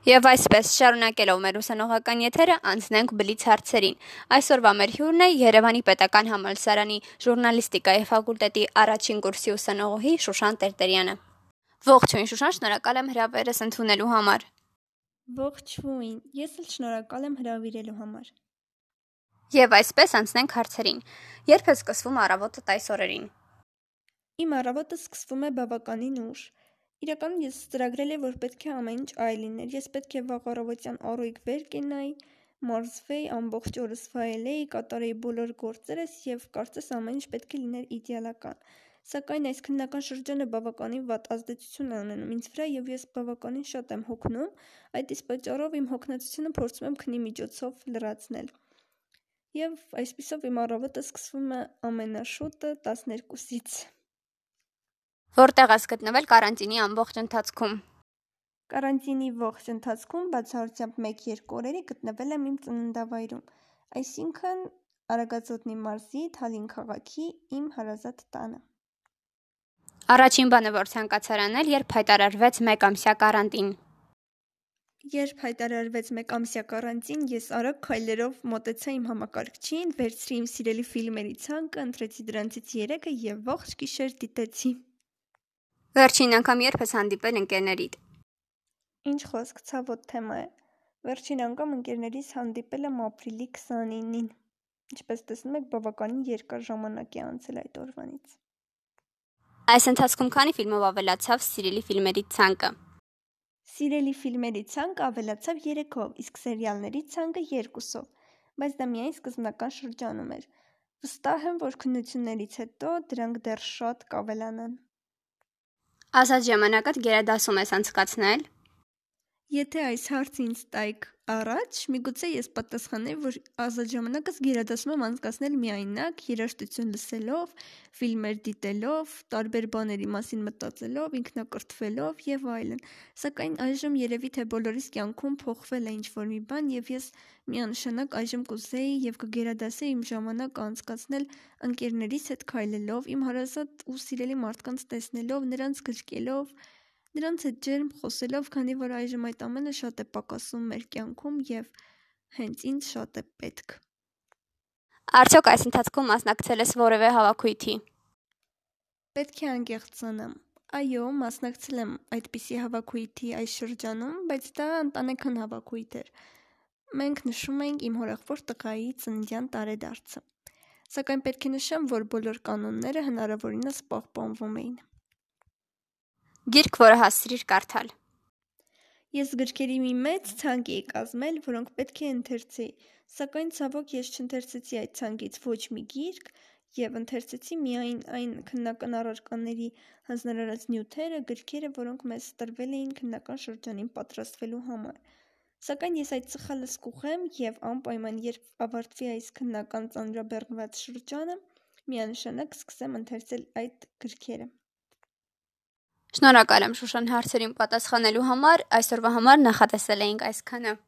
Եվ այսպես, շարունակելով մեր ուսանողական եթերը, անցնենք բլից հարցերին։ Այսօրվա մեր հյուրն է Երևանի պետական համալսարանի ժուրնալիստիկայի ֆակուլտետի առաջին կուրսի ուսանողուհի Շուշան Տերտերյանը։ Ողջույն Շուշան, շնորհակալ եմ հրավերս ընդունելու համար։ Ողջույն, ես էլ շնորհակալ եմ հրավիրելու համար։ Եվ այսպես անցնենք հարցերին։ Երբ է սկսվում առավոտը այս օրերին։ Իմ առավոտը սկսվում է բավականին ուշ։ Իրականում ես ծրագրել եմ, որ պետք է ամեն ինչ այլ լիներ։ Ես պետք է վաղ առավոտյան առույգ վեր կենայի, մարզվեի, ամբողջ օրս վայելեի, կատարեի բոլոր գործերս եւ կարծես ամեն ինչ պետք է լիներ իդեալական։ Սակայն այս քննական շրջանը բավականին վատ ազդեցություն է ունենում ինձ վրա եւ ես բավականին շատ եմ հոգնում, այդ իսկ պատճառով իմ հոգնածությունը փորձում եմ քնի միջոցով լրացնել։ Եվ այսպիսով իմ առավոտը սկսվում է ամենաշուտը 12-ից։ Որտեղ ես գտնվել կարանտինի ամբողջ ընթացքում։ Կարանտինի ողջ ընթացքում բացառությամբ 1-2 օրերի գտնվել եմ իմ ծննդավայրում, այսինքն Արագածոտնի մարզի Թալին քաղաքի իմ հարազատ տանը։ Առաջին բանը, որ ցանկացար անել, երբ հայտարարվեց 1 ամսյա կարանտին։ Երբ հայտարարվեց 1 ամսյա կարանտին, ես արագ քայլերով մոտեցա իմ համակարգչին, վերցրի իմ սիրելի ֆիլմերի ցանկը, ընտրեցի դրանցից 3-ը եւ ողջ գիշեր դիտեցի։ Վերջին անգամ երբ ես հանդիպել ընկերներիդ։ Ինչ խոսք, ցավոտ թեմա է։ Վերջին անգամ ընկերներիս հանդիպել եմ ապրիլի 29-ին։ Ինչպես տեսնում եք, բավականին երկար ժամանակ է անցել այդ օրվանից։ Այս ընթացքում քանի ֆիլմով ավելացավ սիրելի ֆիլմերի ցանկը։ Սիրելի ֆիլմերի ցանկը ավելացավ 3-ով, իսկ սերիալների ցանկը 2-ով, բայց դա միայն սկզբնական շրջանում էր։ Վստահ եմ, որ քննություններից հետո դրանք դեռ շատ կավելանան։ Ազատ ժամանակդ գերադասում ես անցկացնել։ Եթե այս հարցը ինձ տայիք առաջ, միգուցե ես պատասխանեի, որ ազատ ժամանակս գերադասում եմ անցկացնել միայնակ, երաժշտություն լսելով, ֆիլմեր դիտելով, տարբեր բաների մասին մտածելով, ինքնակրթվելով եւ այլն։ Սակայն այժմ երևի թե բոլորիս կյանքում փոխվել է ինչ-որ մի բան եւ ես միանշանակ այժմ կուզեի եւ կգերադասեի իմ ժամանակը անցկացնել ընկերներիս հետ քայլելով, իմ հարազատ ու սիրելի մարդկանց տեսնելով, նրանց գրկելով, նրանց հետ ջերմ խոսելով, քանի որ այժմ այդ ամենը շատ է պակասում մեր կյանքում եւ հենց ինձ շատ է պետք։ Արդյոք այս ընթացքում մասնակցել ես որևէ հավաքույթի։ Պետք է անկեղծանամ։ Այո, մասնակցել եմ այդպիսի հավաքույթի այս շրջանում, բայց դա ընտանեկան հավաքույթ էր։ Մենք նշում էինք իմ հորեղբոր տղայի ծննդյան տարեդարձը։ Սակայն պետք է նշեմ, որ բոլոր կանոնները հնարավորինս պահպանվում էին։ Գիրք, որը հասցրիր կարդալ։ Ես գրքերի մի մեծ ցանկ էի կազմել, որոնք պետք է ընթերցեի, սակայն ցավոք ես չընթերցեցի այդ ցանկից ոչ մի գիրք եւ ընթերցեցի միայն այն քննական առարկաների հանձնարարած նյութերը, գրքերը, որոնք մեզ տրվել էին քննական շրջանին պատրաստվելու համար։ Սակայն ես այդ սխալս կուղեմ եւ անպայման երբ ավարտվի այս քննական ծանրաբեռնված շրջանը, միանշանակ սկսեմ ընթերցել այդ գրքերը։ Շնորհակալ եմ Շուշան հարցերին պատասխանելու համար, այսօրվա համար նախատեսել էինք այսքանը։